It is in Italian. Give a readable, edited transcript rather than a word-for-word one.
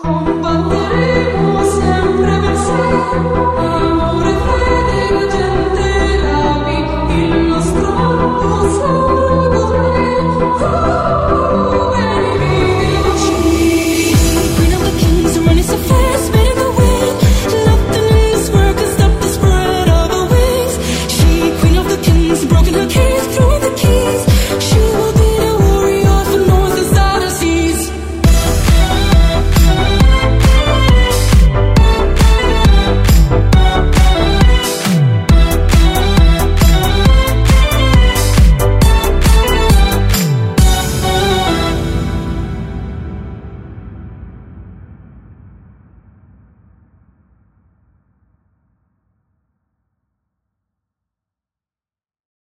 Combatteremo sempre per sé, amore, fede, gente, rapi, il nostro mondo sarà.